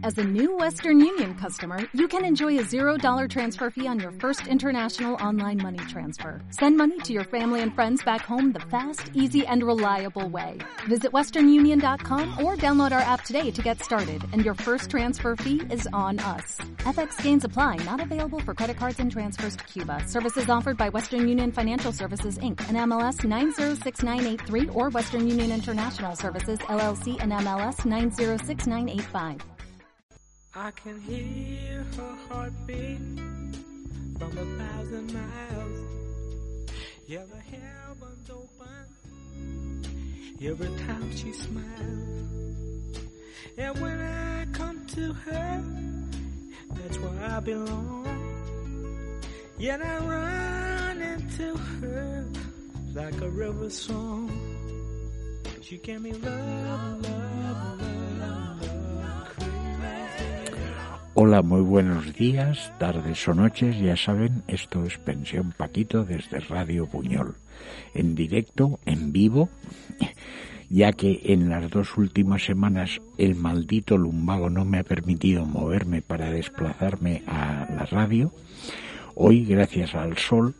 As a new Western Union customer, you can enjoy a $0 transfer fee on your first international online money transfer. Send money to your family and friends back home the fast, easy, and reliable way. Visit westernunion.com or download our app today to get started, and your first transfer fee is on us. FX gains apply, not available for credit cards and transfers to Cuba. Services offered by Western Union Financial Services, Inc., and MLS 906983, or Western Union International Services, LLC, and MLS 906985. I can hear her heartbeat from 1,000 miles. Yeah, the heavens open every time she smiles. And when I come to her, that's where I belong. Yet I run into her like a river song. She gave me love, love, love, love, crazy. Hola, muy buenos días, tardes o noches. Ya saben, esto es Pensión Paquito desde Radio Buñol. En directo, en vivo, ya que en las 2 últimas semanas el maldito lumbago no me ha permitido moverme para desplazarme a la radio. Hoy, gracias al sol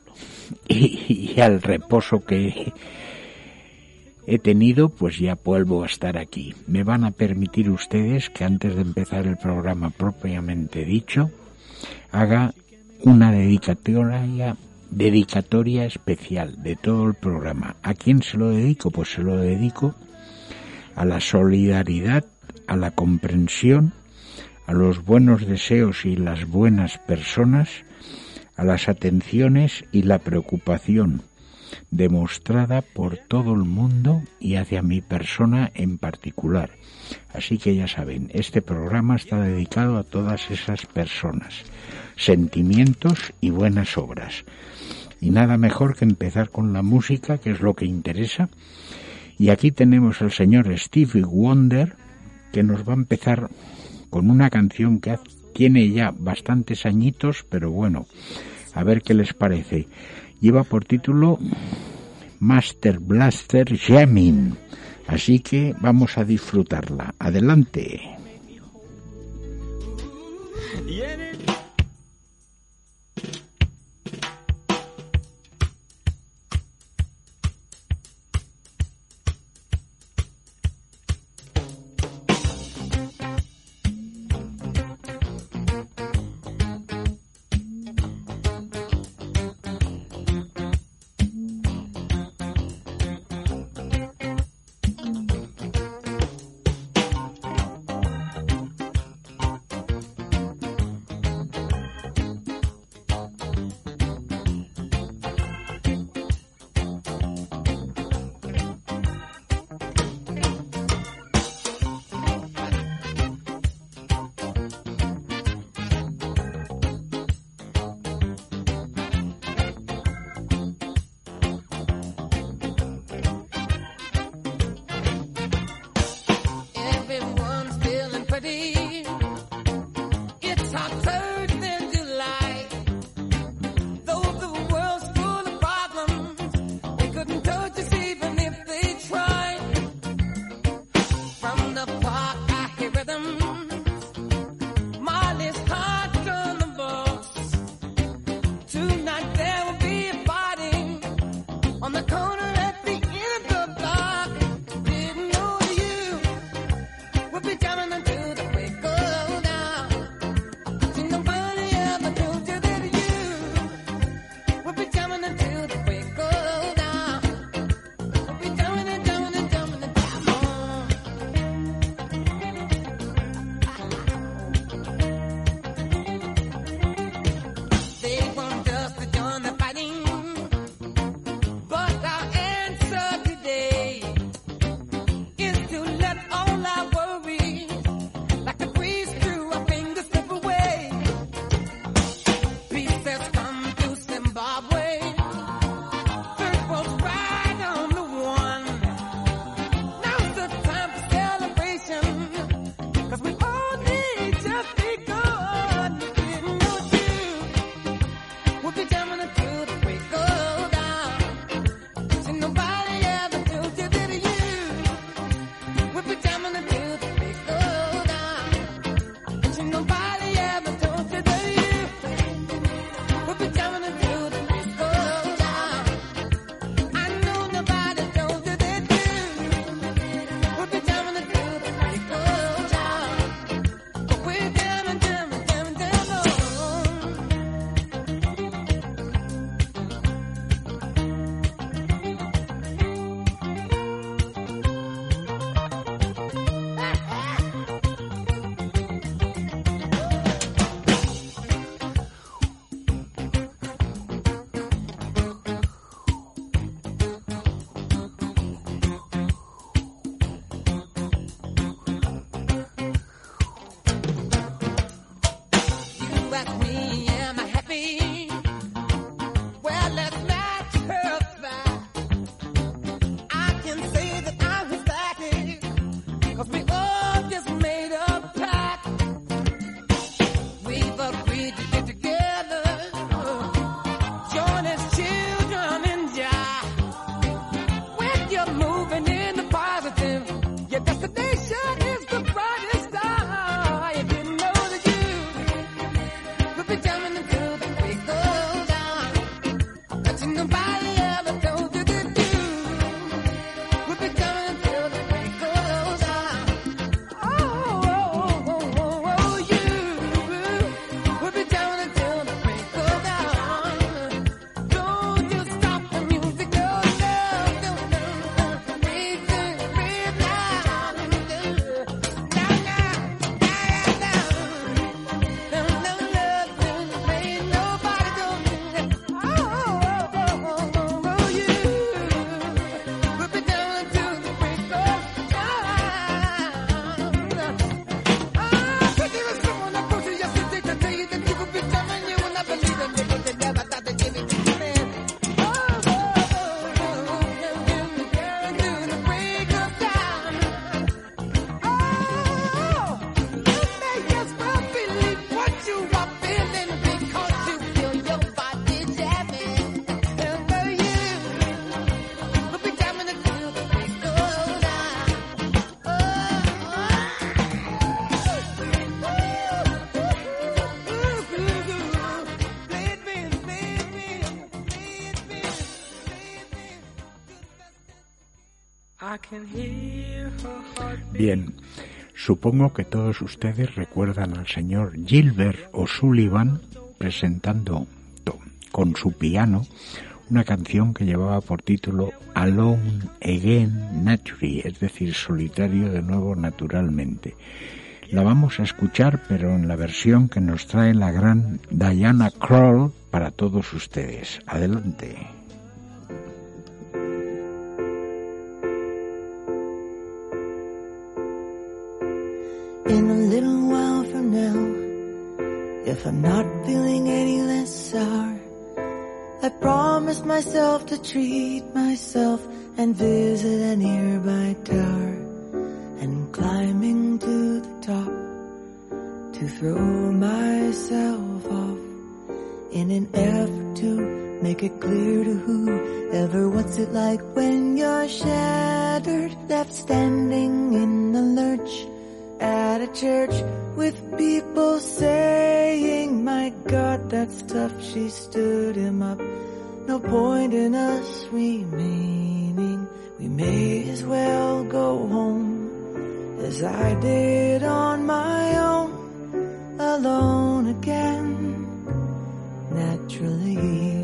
y al reposo que he tenido, pues ya vuelvo a estar aquí. Me van a permitir ustedes que antes de empezar el programa propiamente dicho, haga una dedicatoria especial de todo el programa. ¿A quién se lo dedico? Pues se lo dedico a la solidaridad, a la comprensión, a los buenos deseos y las buenas personas, a las atenciones y la preocupación demostrada por todo el mundo y hacia mi persona en particular. Así que ya saben, este programa está dedicado a todas esas personas, sentimientos y buenas obras. Y nada mejor que empezar con la música, que es lo que interesa. Y aquí tenemos al señor Stevie Wonder, que nos va a empezar con una canción que tiene ya bastantes añitos, pero bueno, a ver qué les parece. Lleva por título Master Blaster Jamming, así que vamos a disfrutarla. Adelante. Bien, supongo que todos ustedes recuerdan al señor Gilbert O'Sullivan presentando con su piano una canción que llevaba por título Alone Again Naturally, es decir, solitario de nuevo naturalmente. La vamos a escuchar, pero en la versión que nos trae la gran Diana Krall para todos ustedes. Adelante. In a little while from now, if I'm not feeling any less sour, I promised myself to treat myself and visit a nearby tower, and climbing to the top to throw myself off in an effort to make it clear to whoever what's it like when you're shattered, left standing in the lurch at a church with people saying, my God, that's tough, she stood him up. No point in us remaining, we may as well go home, as I did on my own, alone again, naturally.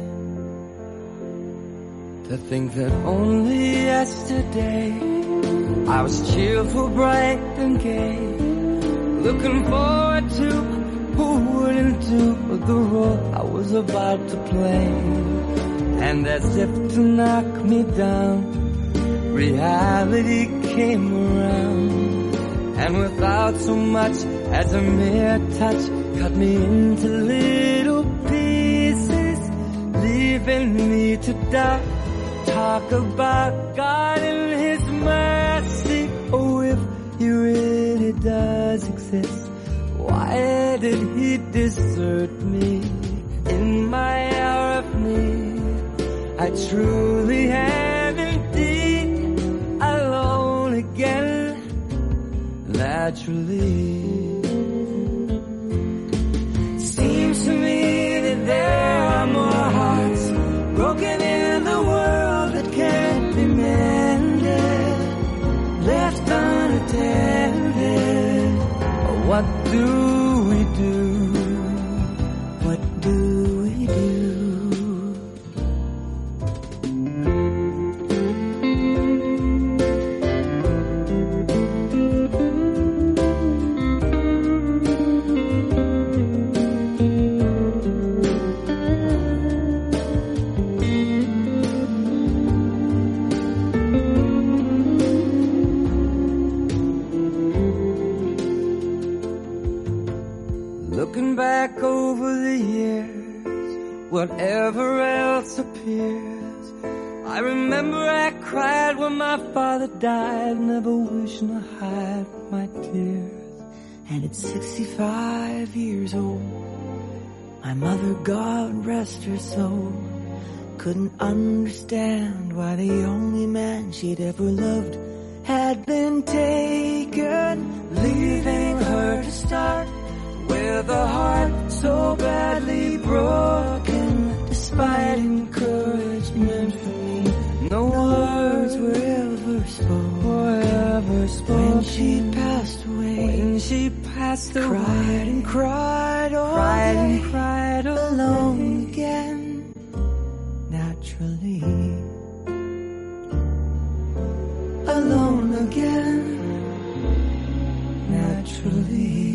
To think that only yesterday I was cheerful, bright and gay, looking forward to who wouldn't do the role I was about to play. And as if to knock me down, reality came around, and without so much as a mere touch, cut me into little pieces, leaving me to doubt. Talk about God and His mercy. Oh, if He really does exist, why did He desert me in my hour of need? I truly am indeed alone again, naturally. Seems to me that there are more hearts broken in the world that can't be mended, left unattended. What do we do? What do we do? Looking back over the years, whatever else appears, I remember I cried when my father died, never wishing to hide my tears. And at 65 years old, my mother, God rest her soul, couldn't understand why the only man she'd ever loved had been taken, leaving her to start with a heart so badly broken. Despite encouragement from me, no words were ever spoken. When she passed away, cried and cried all day, alone again, naturally. Alone again, naturally.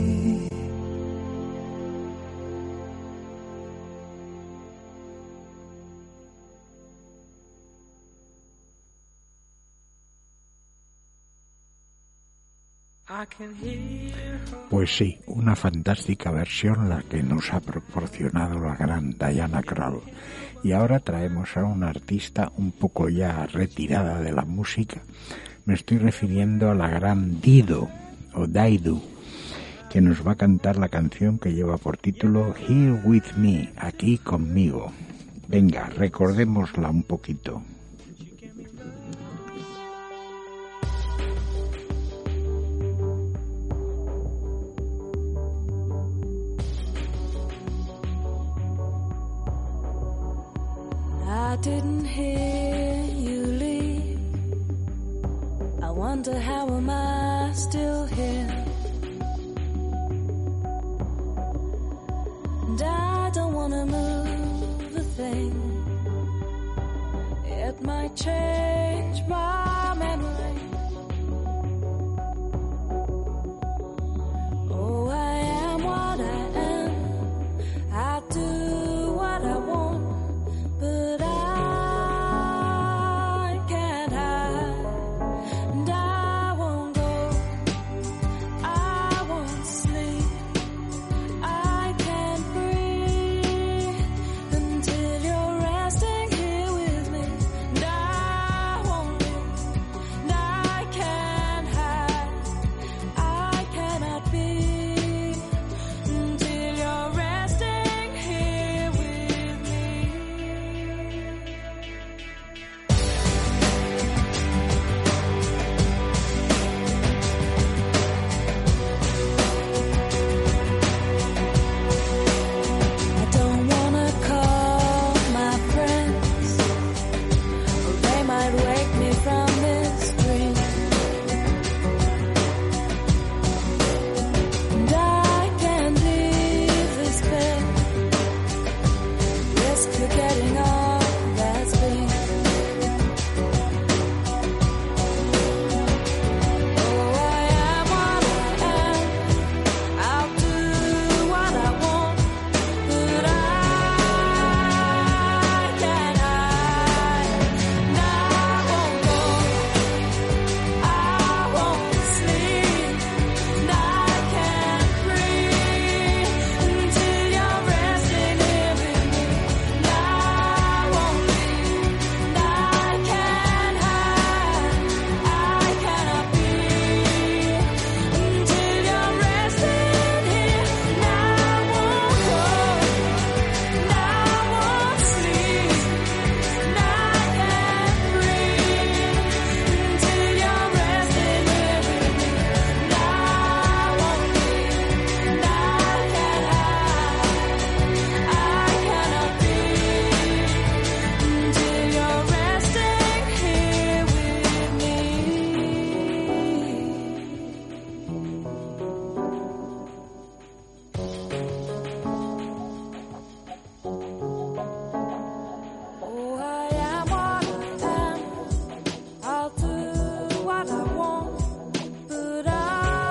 Pues sí, una fantástica versión la que nos ha proporcionado la gran Diana Krall. Y ahora traemos a una artista un poco ya retirada de la música. Me estoy refiriendo a la gran Dido, o Daidu, que nos va a cantar la canción que lleva por título Here With Me, aquí conmigo. Venga, recordémosla un poquito. I didn't hear you leave wonder how am I still here? And I don't wanna move a thing. It might change my memory. Oh, I am what I am. I do what I want, but I can't hide. And I won't go, I won't sleep, I can't breathe until you're resting here with me. And I won't leave, and I can't hide, I cannot be until you're resting here with me. I don't wanna call my friends, or they might wake me from this dream. And I can't leave this bed, risk forgetting all that's been. Oh, I am what I am, I'll do what I want, but I can't hide. And I won't go, I won't sleep, and I can't breathe until you're resting here with me. And I won't leave, and I can't hide, I cannot be until you're resting here. And I won't go, and I won't sleep, and I can't breathe until you're resting here with me. And I won't leave, and I can't hide, I cannot be until you're resting here with me. Oh, I am what I am, I'll do what I want, but I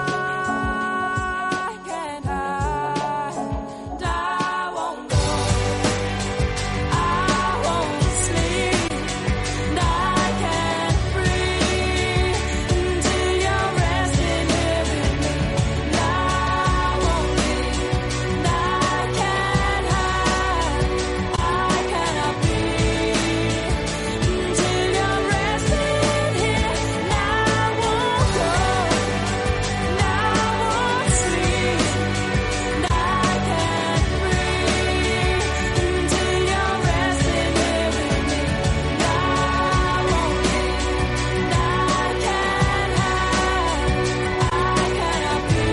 can't hide. And I won't go, I won't sleep, and I can't breathe until you're resting here with me. And I won't leave, and I can't hide, I cannot be until you're resting here. And I won't go, and I won't sleep, and I can't breathe until you're resting here with me. And I won't leave, and I can't hide, I cannot be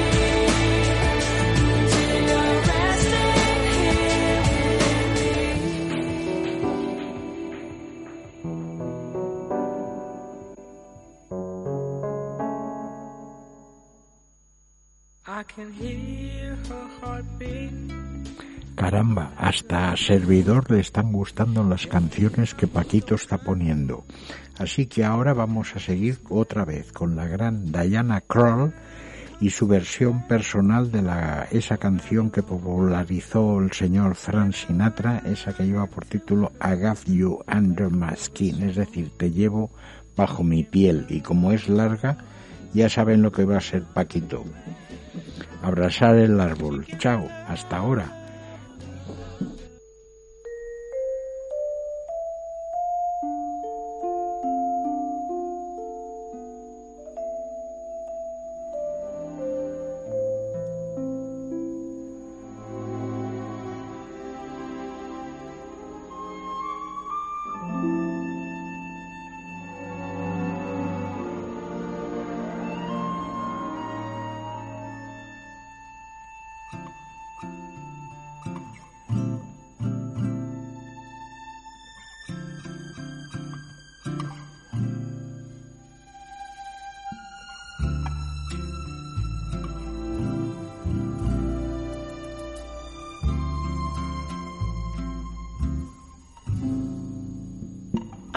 until you're resting I can hear her heartbeat. Caramba, hasta a servidor le están gustando las canciones que Paquito está poniendo. Así que ahora vamos a seguir otra vez con la gran Diana Krall y su versión personal de esa canción que popularizó el señor Frank Sinatra, esa que lleva por título I Got You Under My Skin, es decir, te llevo bajo mi piel. Y como es larga, ya saben lo que va a ser Paquito. Abrazar el árbol. Chao, hasta ahora.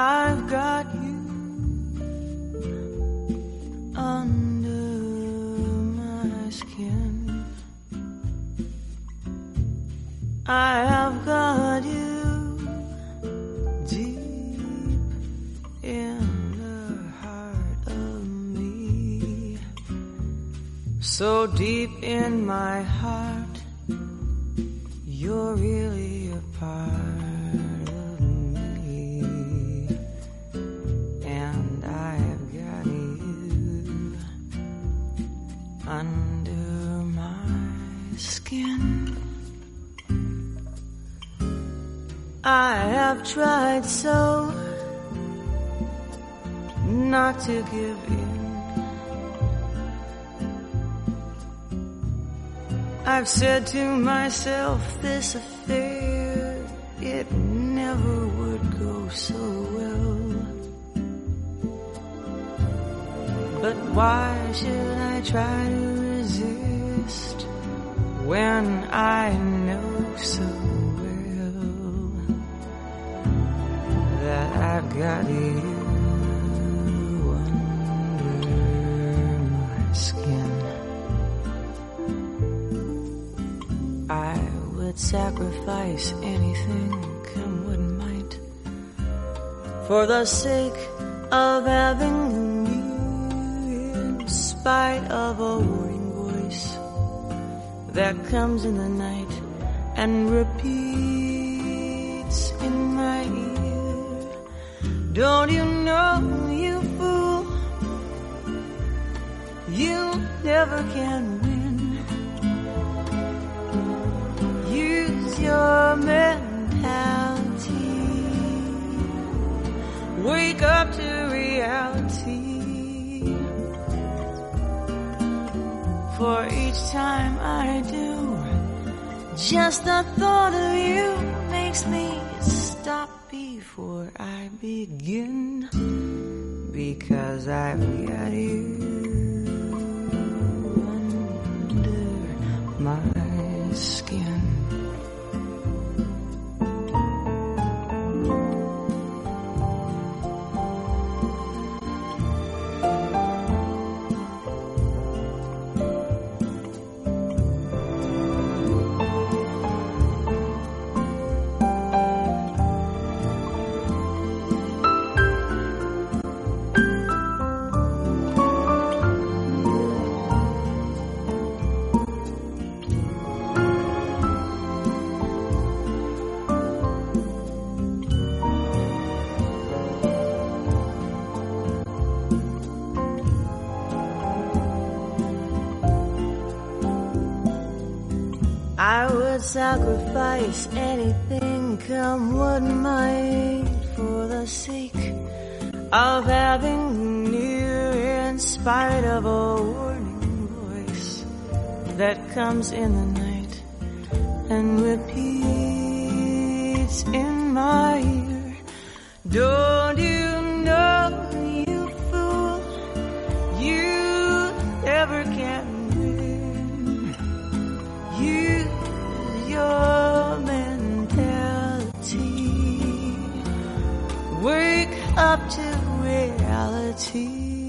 I've got you under my skin. I have got you deep in the heart of me. So deep in my heart, you're really a part of me. And I've got you under my skin. I have tried so not to give in. I've said to myself, this affair, it never would go so well. But why should I try to resist when I know so well that I've got you under my skin? I would sacrifice anything, come what might, for the sake of having you, in spite of a warning voice that comes in the night and repeats in my ear. Don't you know, you fool, you never can win. Use your mentality. Wake up to reality. For each time I do, just the thought of you makes me stop before I begin. Because I've got you under my skin. I would sacrifice anything, come what might, for the sake of having near, in spite of a warning voice that comes in the night and repeats in my ear. Don't you know, you fool, you never can win. Use your mentality. Wake up to reality.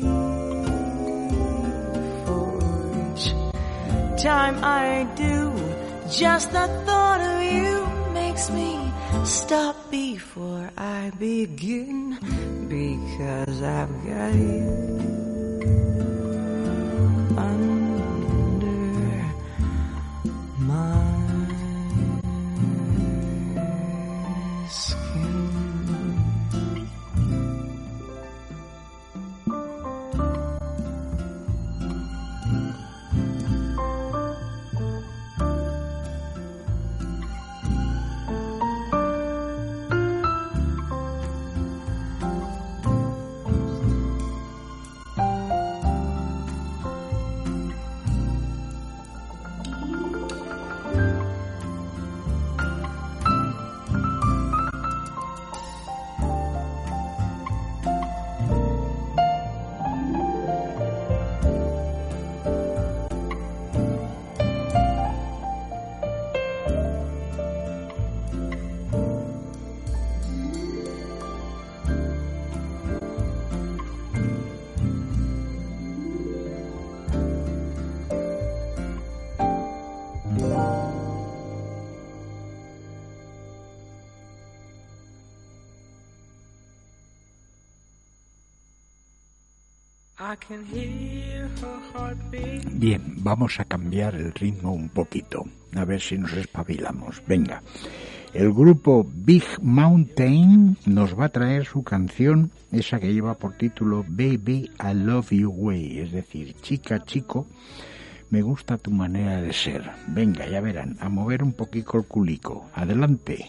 For each time I do, just the thought of you makes me stop before I begin. Because I've got you under my skin. I can hear her heartbeat. Bien, vamos a cambiar el ritmo un poquito, a ver si nos espabilamos. Venga, el grupo Big Mountain nos va a traer su canción, esa que lleva por título Baby, I Love You Way, es decir, chica, chico, me gusta tu manera de ser. Venga, ya verán, a mover un poquito el culico. Adelante.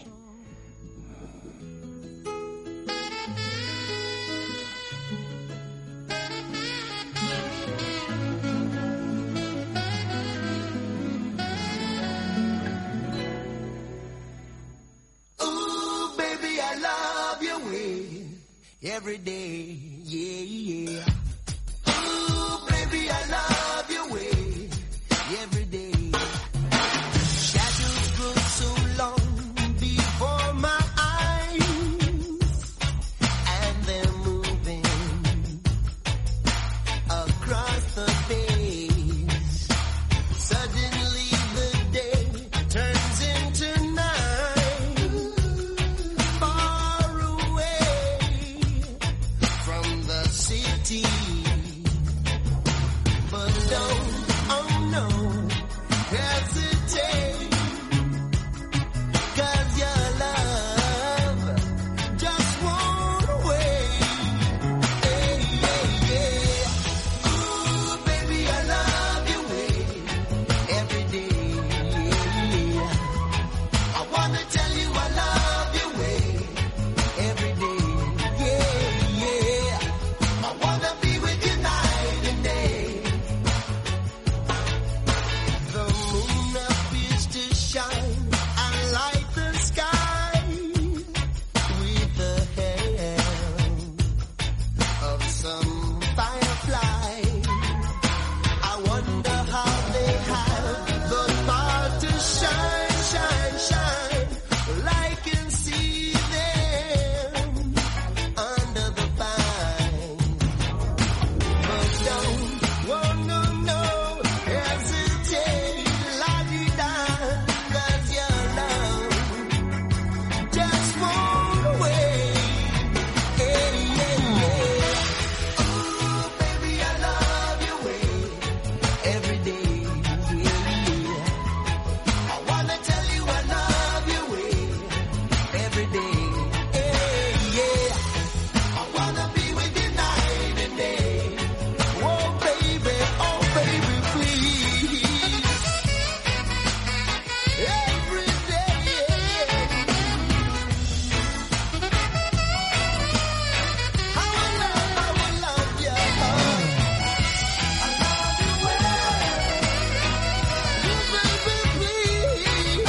Ooh, baby, I love your way every day, yeah, yeah. Ooh, baby, I love your way every day. Shadows grow so long before my eyes, and they're moving across the face. Suddenly the day turns into night, far away from the city. But don't, oh no, hesitate, 'cause your love just won't wait. Hey, yeah, yeah. Ooh, baby, I love your way every day. I wanna tell you I love your way every day. Yeah, yeah. I wanna be with you night and day. The moon appears to shine and light the sky with the help of some firefly. I wonder how they have the power to shine, shine, shine. Well, I can see them under the pine. But don't, oh no, no, hesitate, la-di-da, 'cause your love just won't wait. Hey, yeah, yeah. Ooh, baby, I love your way every day, yeah. I wanna tell you I love your way every day, yeah. I wanna be with you night and day. Oh baby, please. Every day. I will love you. I love you well. Baby, please.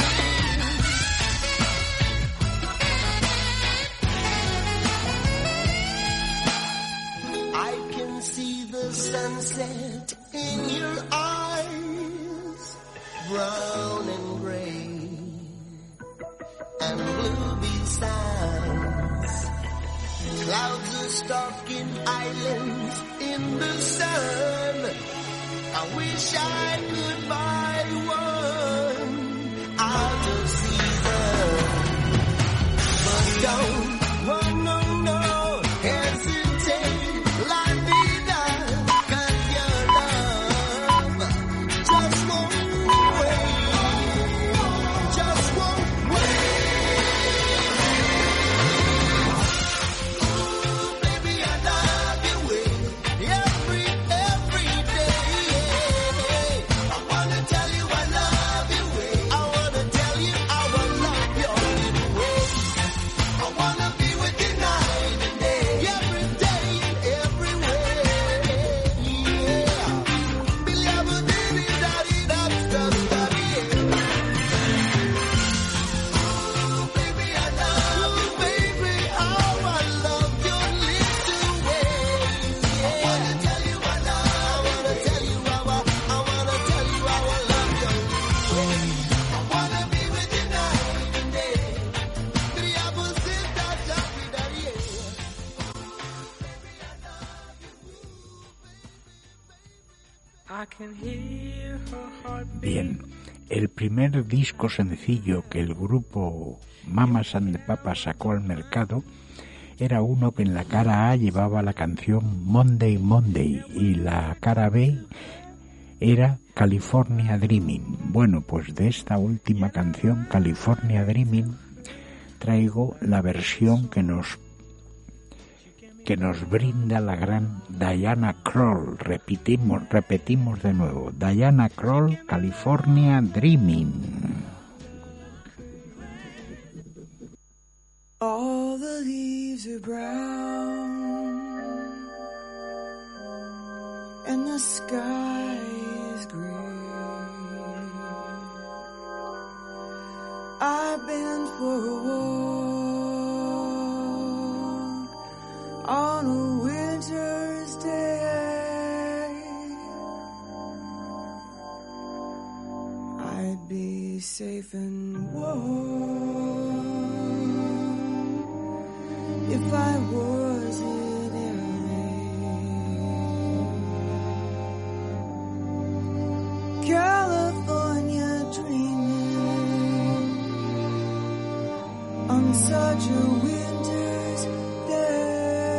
I can see the sunset in your eyes, brown and gray and blue besides. Clouds are stalking islands in the sun. I wish I could buy one out of season. But don't, oh no, no, hesitate, la-di-da, 'cause your love just won't wait, just won't wait. Ooh, baby, I love your way every day. I wanna tell you I love your way. I wanna tell you I will love your way. I wanna be with you night and day, every day, everywhere. Yeah. Ooh, baby, I love you, baby. Oh, I love your little ways. I wanna tell you I love. I wanna tell you I wanna tell you I will love your ways. I wanna be with you night and day. I can hear her heartbeat. Bien, el primer disco sencillo que el grupo Mamas and the Papas sacó al mercado era uno que en la cara A llevaba la canción Monday Monday y la cara B era California Dreaming. Bueno, pues de esta última canción, California Dreaming, traigo la versión que nos brinda la gran Diana Krall. Repetimos de nuevo. Diana Krall, California Dreaming. All the leaves are brown and the sky is gray. I've been for a walk on a winter's day. I'd be safe and warm if I was in LA. California dreaming on such a winter's day.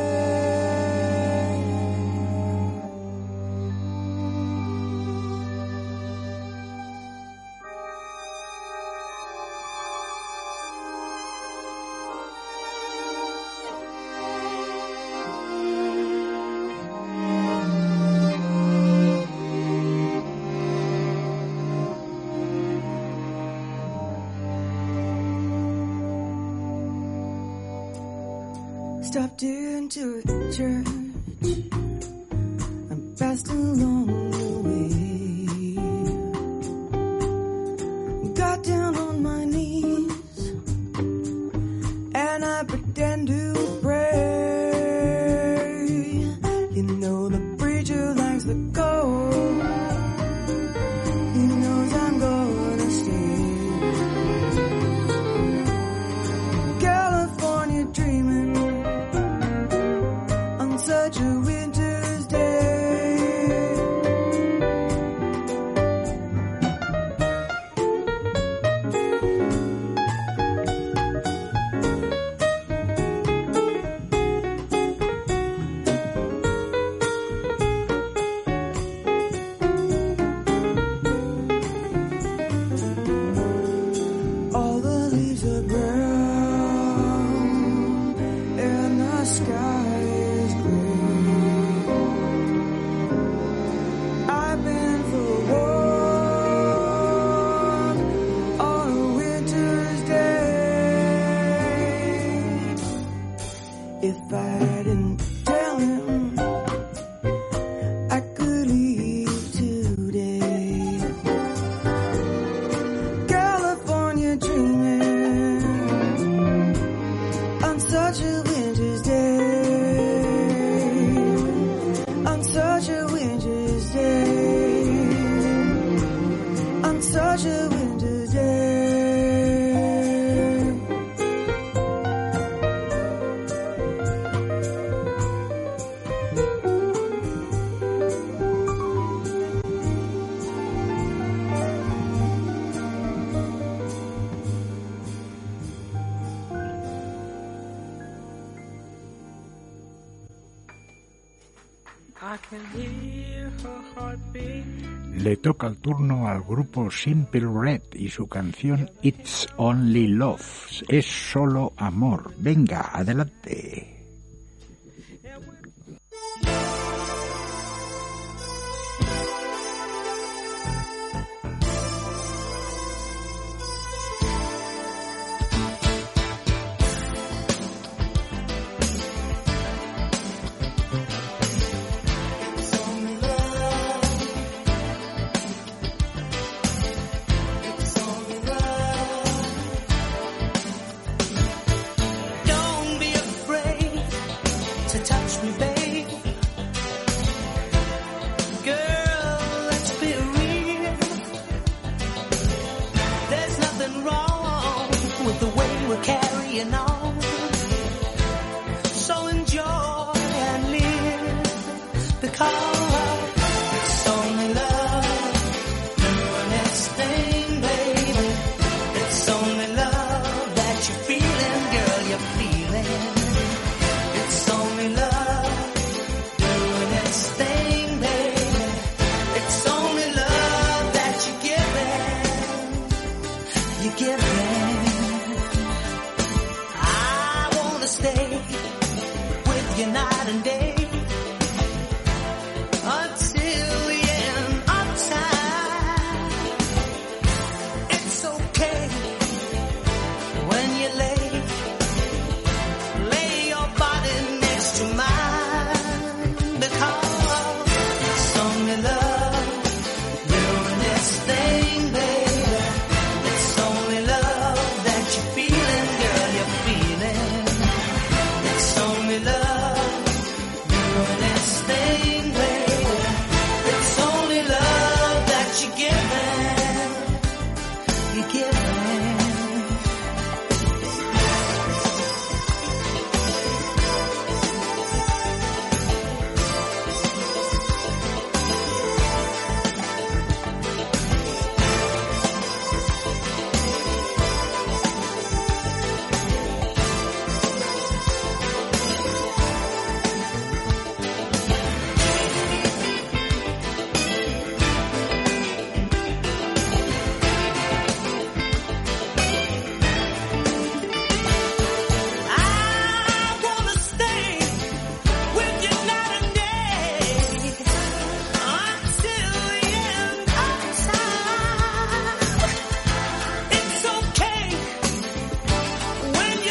Stopped into a church and passed along the way. Got down on my knees and I pretend to pray. You know the preacher likes the cold. He knows I'm gonna stay. California dreaming such a winter's day. All the leaves are brown and the sky is gray. I've been for a walk on a winter's day. If I didn't tell him I could leave today. California dreaming on such a winter's day. On such a winter's day. On such a winter's day. I can hear her heartbeat. Le toca el turno al grupo Simple Red y su canción It's Only Love. Es solo amor. Venga, adelante. Don't be afraid to touch me, babe. Girl, let's be real. There's nothing wrong with the way we're carrying on. So enjoy and live, because it's only love. The next thing, baby, it's only love that you're feeling, girl, you're feeling. giving. I wanna stay with you night and day until the end of time. It's okay when you lay your body next to mine, because it's only love doing this thing, baby. It's only love that you're feeling, girl, you're feeling. It's only love doing this thing, baby. It's only love that you're giving. You're giving. I wanna stay with you night and day until the end of time. It's okay when you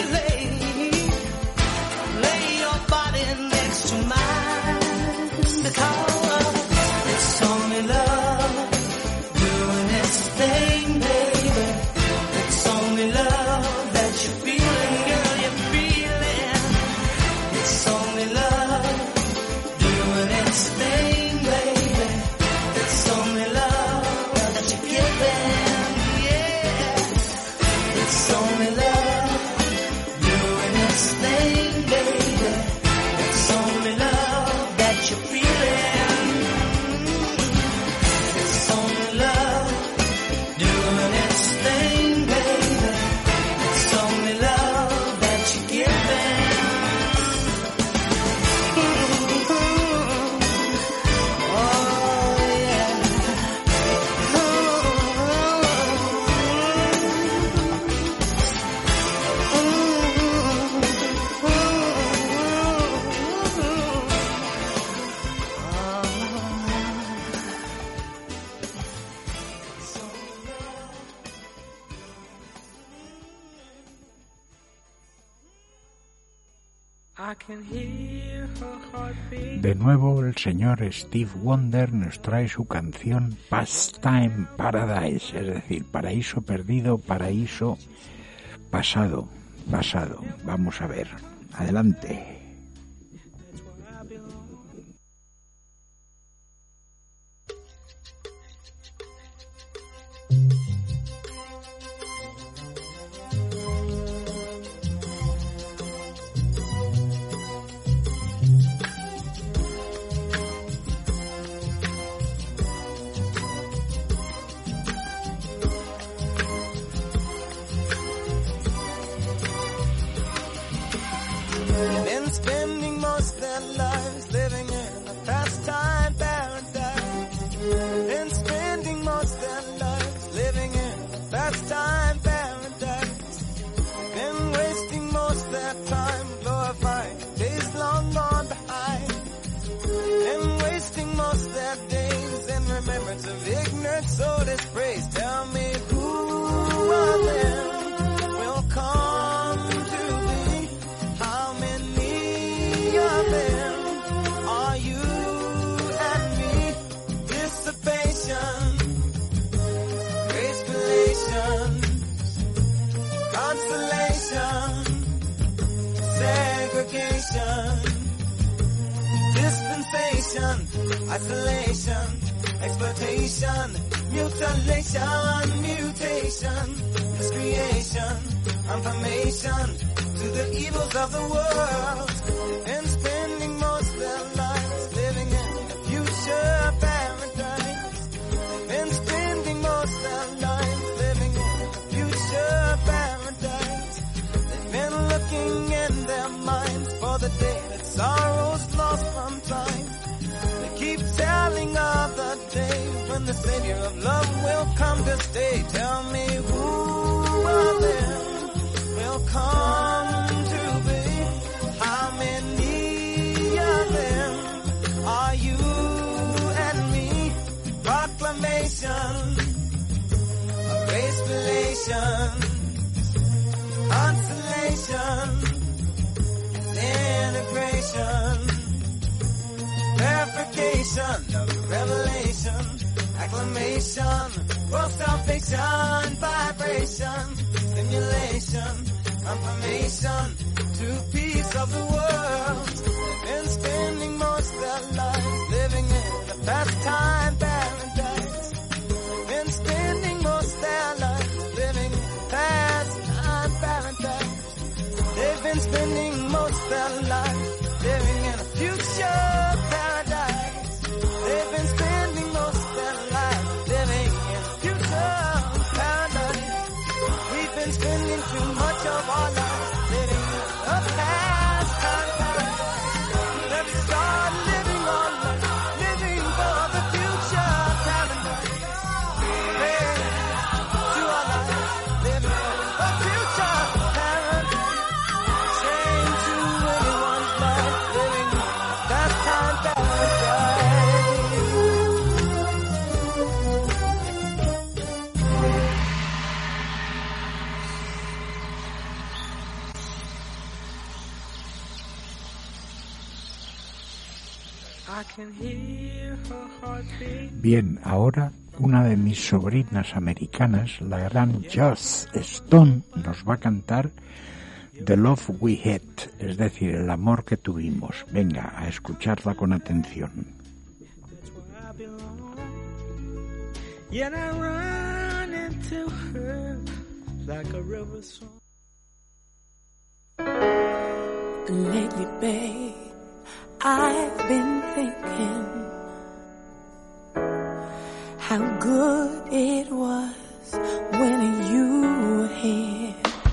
lay your body next to mine, because it's only love doing its thing, baby. It's only love that you're feeling, girl, you're feeling. It's only love doing its thing, baby. It's only love that you're giving, yeah. It's only love doing its thing, baby. It's only love that you're feeling. It's only love doing its thing, baby. It's only love that you're giving. Oh yeah. I can hear her heartbeat. De nuevo el señor Steve Wonder nos trae su canción Pastime Paradise, es decir, paraíso perdido, paraíso pasado. Vamos a ver, adelante. Been spending most their lives living in a pastime paradise. Been spending most their lives living in a pastime paradise. Been wasting most their time glorifying days long gone behind. Been wasting most their days in remembrance of ignorant soul dispraise. Tell me who of them will come to be? How many of them are you and me? Dissipation, gracefulation, consolation, segregation, dispensation, isolation, exploitation, mutilation, mutation, miscreation, confirmation to the evils of the world, and spending most of their lives living in a future paradise, and spending most of their lives living in a future paradise. They've been looking in their minds for the day that sorrow's lost from time. They keep telling of the day when the Savior of love will come to stay. Tell me who Revelation of grace relation, consolation, integration, verification of revelation, acclamation, world salvation, vibration, stimulation, confirmation, to peace of the world. They've been spending most of their lives living in a pastime paradise. They've been spending most of their lives living in a pastime paradise. They've been spending most of their lives living in a future paradise. They've been spending most of their lives living in a future paradise. We've been spending too much of our lives living in a pastime paradise. Let's start living our life, living for the future paradise. Hey, to our lives, living for the future paradise. Change to anyone's life, living in a pastime paradise. I can hear her heartbeat. Bien, ahora una de mis sobrinas americanas, la gran Joss Stone, nos va a cantar The Love We Had, es decir, el amor que tuvimos. Venga, a escucharla con atención. That's where I belong. Yet I run into her like a river song. Lately, babe, I've been thinking how good it was when you were here.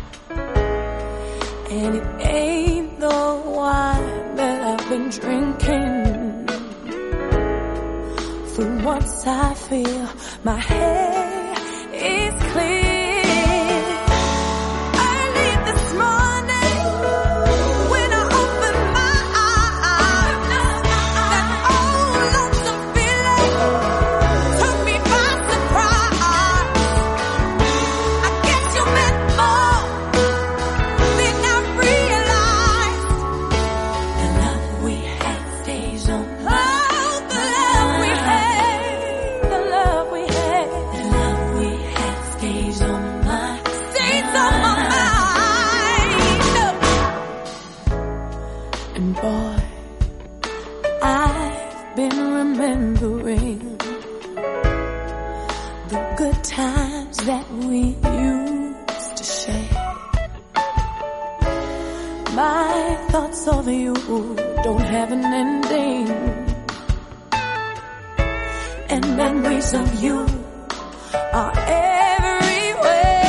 And it ain't the wine that I've been drinking. For once I feel my head is clear. Early this morning, when I opened my eyes, that old lonesome feeling took me by surprise. I guess you meant more than I realized. The love we had stays on my mind. The love we had, the love we had, the love we had stays on my mind. And boy, I've been remembering the good times that we used to share. My thoughts of you don't have an ending, and memories of you are everywhere.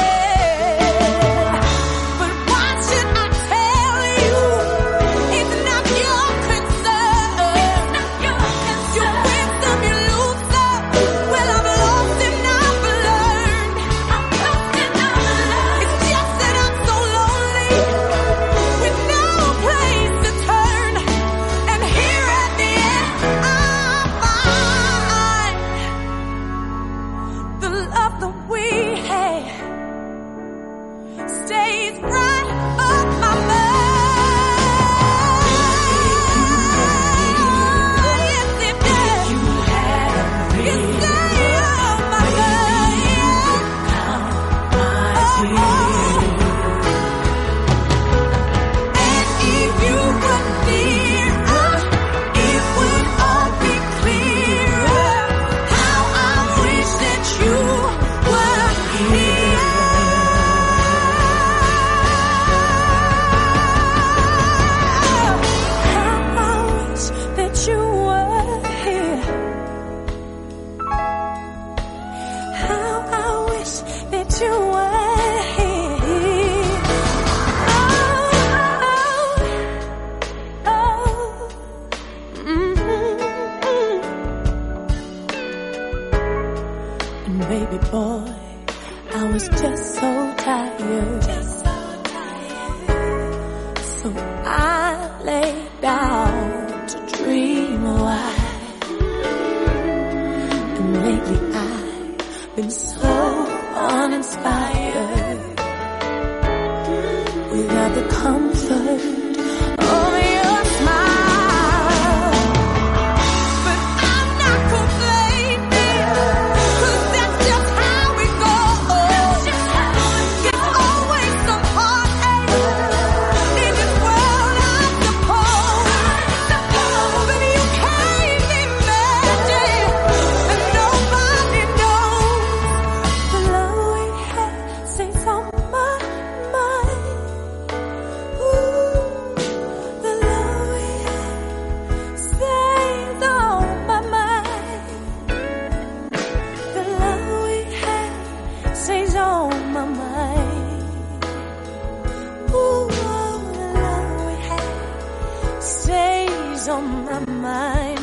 But why should I tell you? It's not your concern. You win some, you lose some. Well, I've lost and I've learned. It's just that I'm so lonely with no place to turn. And here at the end, I find the love that we had stays right up my mind. Yes, it does. It stays up my mind. And if you were near, it would all be clearer. How I wish that you were here. How I wish that you were here. How I wish that you were here. Oh, And baby boy, I was just so tired. So I lay down to dream a while. And lately I been so uninspired without the comfort of your smile. But I'm not complaining, 'cause that's just how it goes. There's always some heartache in this world, I suppose. But you can't imagine, and nobody knows the love we had stays on my mind. Ooh, the love we had stays on my mind. The love we had stays on my mind. Ooh, the love we had stays on my mind.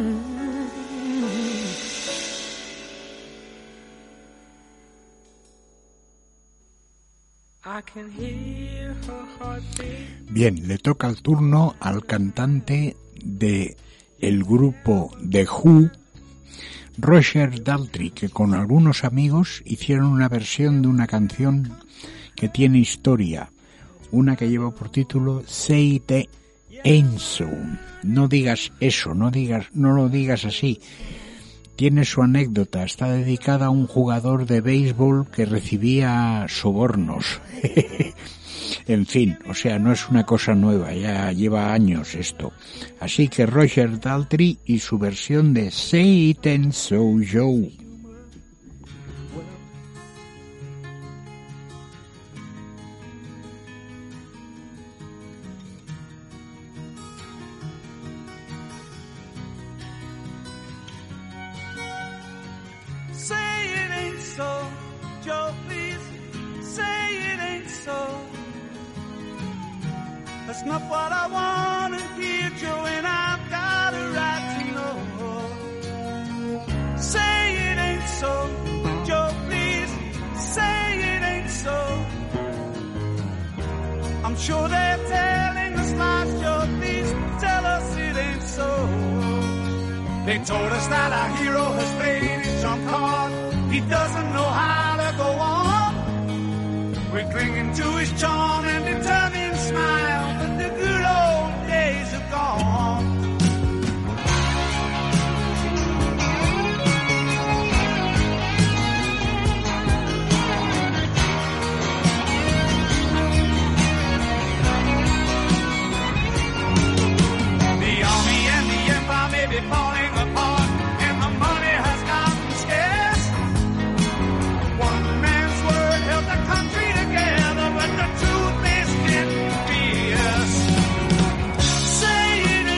I can hear her heartbeat. Bien, le toca el turno al cantante de el grupo The Who, Roger Daltrey, que con algunos amigos hicieron una versión de una canción que tiene historia, una que lleva por título Say It Ain't So. No digas eso, no lo digas así. Tiene su anécdota, está dedicada a un jugador de béisbol que recibía sobornos. En fin, o sea, no es una cosa nueva, ya lleva años esto. Así que Roger Daltrey y su versión de Say It Ain't So Joe. Say it ain't so, Joe, please. Say it ain't so. That's not what I want to hear, Joe, and I've got a right to know. Say it ain't so, Joe, please. Say it ain't so. I'm sure they're telling us lies, Joe, please tell us it ain't so. They told us that our hero has played his trump card. He doesn't know how to go on. We're clinging to his charm and determined smile, but the good old days are gone. The army and the empire may be falling apart, and the money has gotten scarce. One man's word held the country together, but the truth is getting fierce. Say it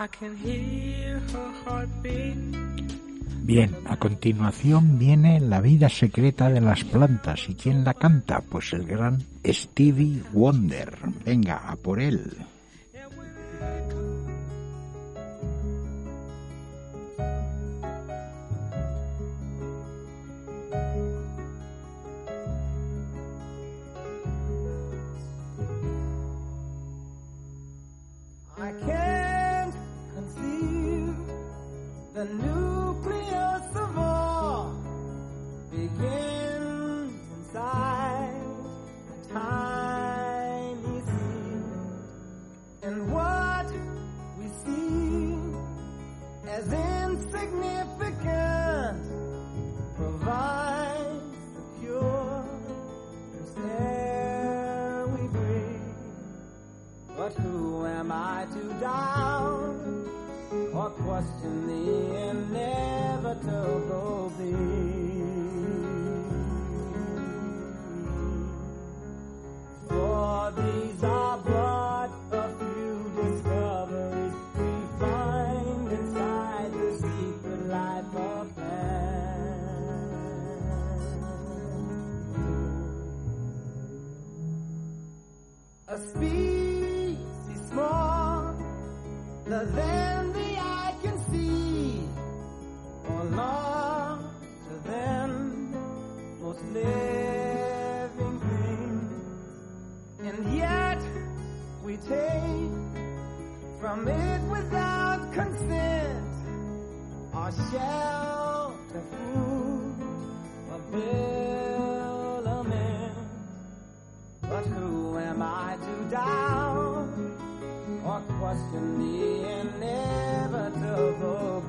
I can hear her heartbeat. Bien, a continuación viene La vida secreta de las plantas. ¿Y quién la canta? Pues el gran Stevie Wonder. Venga, a por él. I can't conceive the nucleus of all begins inside a tiny seed, and what we see as insignificant provides the cure for air we breathe. But who am I to doubt or question the inevitable for these are but a few discoveries we find inside the secret life of man. A species smaller than the eye can see, or larger than most living things, and yet we take from it without consent our shelter, food, habiliment. But who am I to doubt or question the inevitable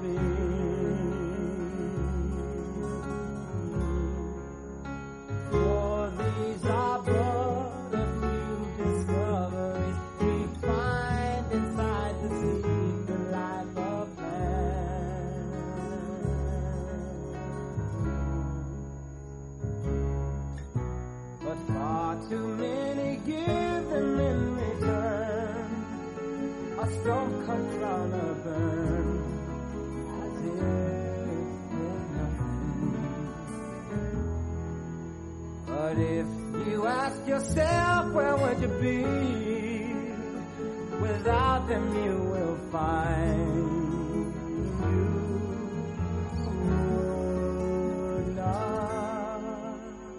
for these are but a few discoveries we find inside the secret life of man. But far too many give them in return a stone-cut crown of burn, as if they're nothing. But if you ask yourself, where would you be? Without them you will find you would not.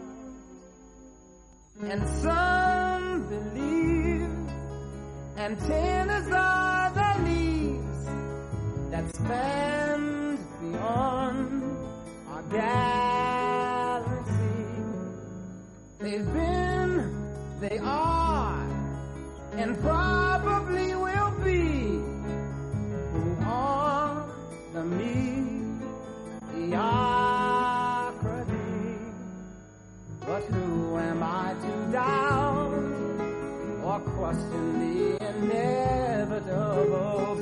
And some believe antennas are the leaves that span beyond our galaxy. They've been, they are, and probably will be who are the mediocrity. But who am I to doubt or question the inevitable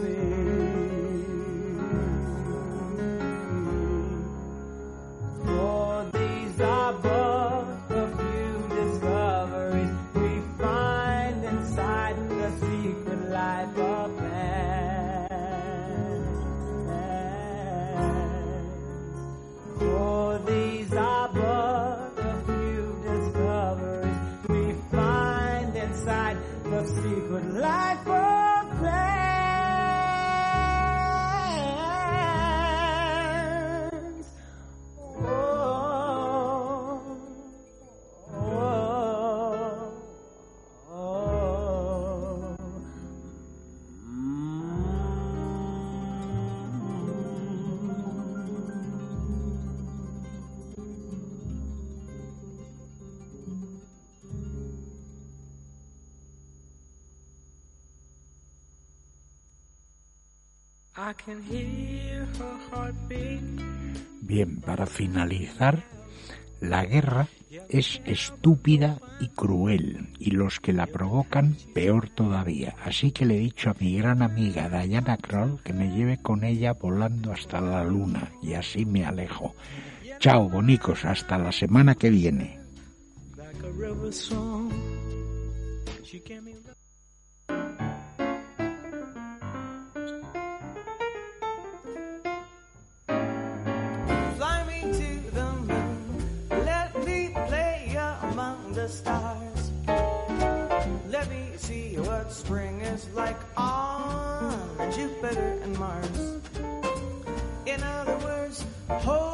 for these are but a few discoveries we find inside the secret life of man. For these are but a few discoveries we find inside the secret life of plans. Oh, oh, oh. I can hear her heartbeat. Bien, para finalizar, la guerra es estúpida y cruel, y los que la provocan peor todavía. Así que le he dicho a mi gran amiga Diana Krall que me lleve con ella volando hasta la luna, y así me alejo. Chao, bonicos, hasta la semana que viene. Like a river song, she gave me words. Hold